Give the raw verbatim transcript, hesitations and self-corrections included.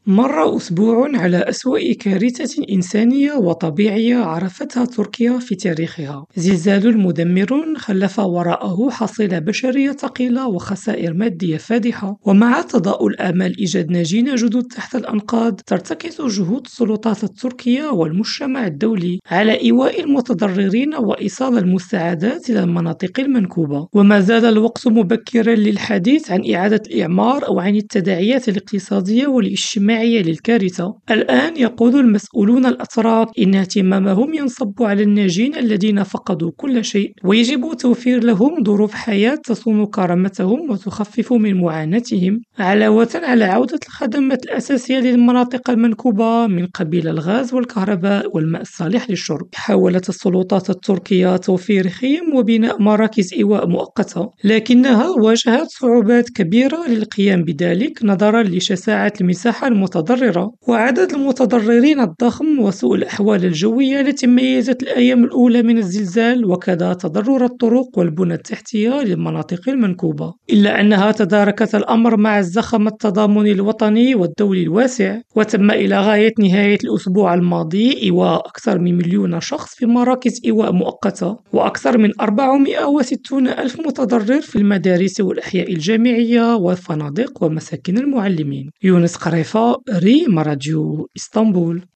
مر أسبوع على أسوأ كارثة إنسانية وطبيعية عرفتها تركيا في تاريخها. زلزال مدمر خلف وراءه حصيلة بشرية ثقيلة وخسائر مادية فادحة، ومع تضاؤل آمال إيجاد ناجين جدد تحت الأنقاض، ترتكز جهود السلطات التركية والمجتمع الدولي على إيواء المتضررين وإيصال المساعدات إلى المناطق المنكوبة. وما زال الوقت مبكرا للحديث عن إعادة الإعمار أو عن التداعيات الاقتصادية والاجتماعية للكارثة. الآن يقول المسؤولون الأتراك إن اهتمامهم ينصب على الناجين الذين فقدوا كل شيء، ويجب توفير لهم ظروف حياة تصون كرامتهم وتخفف من معاناتهم، علاوة على عودة الخدمات الأساسية للمناطق المنكوبة من قبيل الغاز والكهرباء والماء الصالح للشرب. حاولت السلطات التركية توفير خيم وبناء مراكز إيواء مؤقتة، لكنها واجهت صعوبات كبيرة للقيام بذلك نظرا لشساعة المساحة المتضررة وعدد المتضررين الضخم وسوء الأحوال الجوية التي ميزت الأيام الأولى من الزلزال، وكذا تضرر الطرق والبنى التحتية للمناطق المنكوبة. إلا أنها تداركت الأمر مع الزخم التضامني الوطني والدولي الواسع، وتم إلى غاية نهاية الأسبوع الماضي إيواء أكثر من مليون شخص في مراكز إيواء مؤقتة، وأكثر من أربعمائة وستون ألف متضرر في المدارس والأحياء الجامعية والفنادق ومساكن المعلمين. يونس قريفة، ريم راديو إسطنبول.